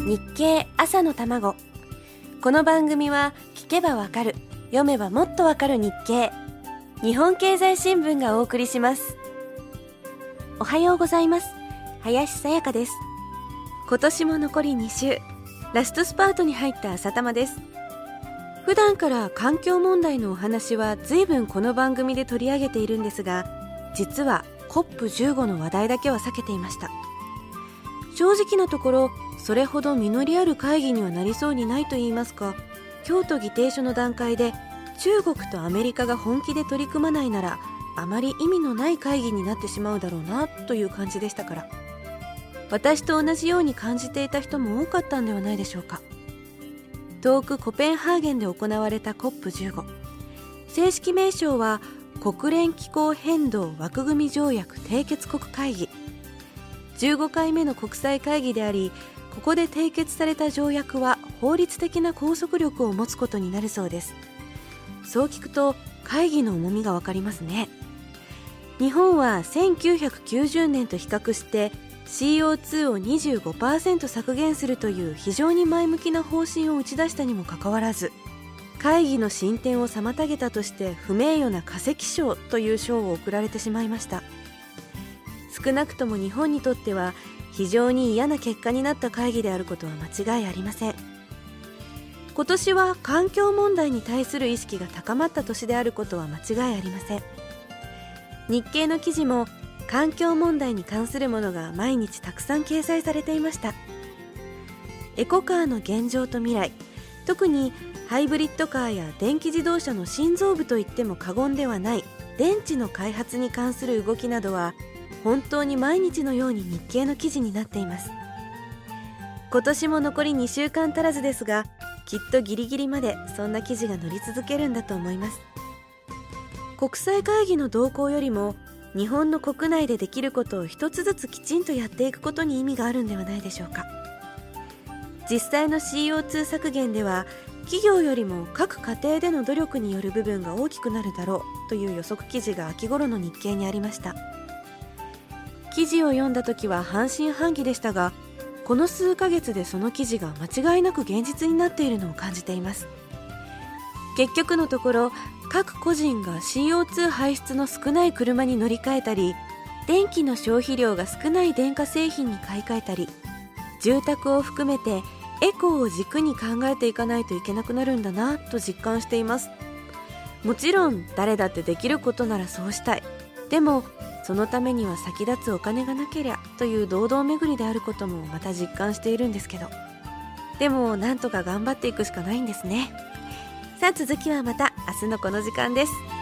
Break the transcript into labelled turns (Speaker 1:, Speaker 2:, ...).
Speaker 1: 日経朝の卵。この番組は聞けばわかる、読めばもっとわかる日経、日本経済新聞がお送りします。おはようございます。林さやかです。今年も残り2週、ラストスパートに入った朝玉です。普段から環境問題のお話は随分この番組で取り上げているんですが、実は COP15 の話題だけは避けていました。正直なところ、それほど実りある会議にはなりそうにないと言いますか、京都議定書の段階で中国とアメリカが本気で取り組まないなら、あまり意味のない会議になってしまうだろうなという感じでしたから、私と同じように感じていた人も多かったんではないでしょうか。遠くコペンハーゲンで行われた COP15、 正式名称は国連気候変動枠組み条約締結国会議。15回目の国際会議であり、ここで締結された条約は法律的な拘束力を持つことになるそうです。そう聞くと会議の重みがわかりますね。日本は1990年と比較して CO2 を 25% 削減するという非常に前向きな方針を打ち出したにもかかわらず、会議の進展を妨げたとして不名誉な化石賞という賞を贈られてしまいました。少なくとも日本にとっては非常に嫌な結果になった会議であることは間違いありません。今年は環境問題に対する意識が高まった年であることは間違いありません。日経の記事も環境問題に関するものが毎日たくさん掲載されていました。エコカーの現状と未来、特にハイブリッドカーや電気自動車の心臓部といっても過言ではない電池の開発に関する動きなどは本当に毎日のように日経の記事になっています。今年も残り2週間足らずですが、きっとギリギリまでそんな記事が載り続けるんだと思います。国際会議の動向よりも日本の国内でできることを一つずつきちんとやっていくことに意味があるんではないでしょうか。実際の CO2 削減では企業よりも各家庭での努力による部分が大きくなるだろうという予測記事が秋頃の日経にありました。記事を読んだ時は半信半疑でしたが、この数ヶ月でその記事が間違いなく現実になっているのを感じています。結局のところ、各個人が CO2 排出の少ない車に乗り換えたり、電気の消費量が少ない電化製品に買い替えたり、住宅を含めてエコを軸に考えていかないといけなくなるんだなと実感しています。もちろん誰だってできることならそうしたい。でもそのためには先立つお金がなけりゃという堂々巡りであることもまた実感しているんですけど、でもなんとか頑張っていくしかないんですね。さあ続きはまた明日のこの時間です。